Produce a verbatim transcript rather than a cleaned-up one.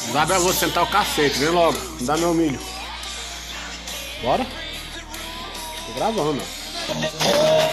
Isabel, eu vou sentar o cacete, vem logo. Me dá meu milho. Bora? Tô gravando, ó.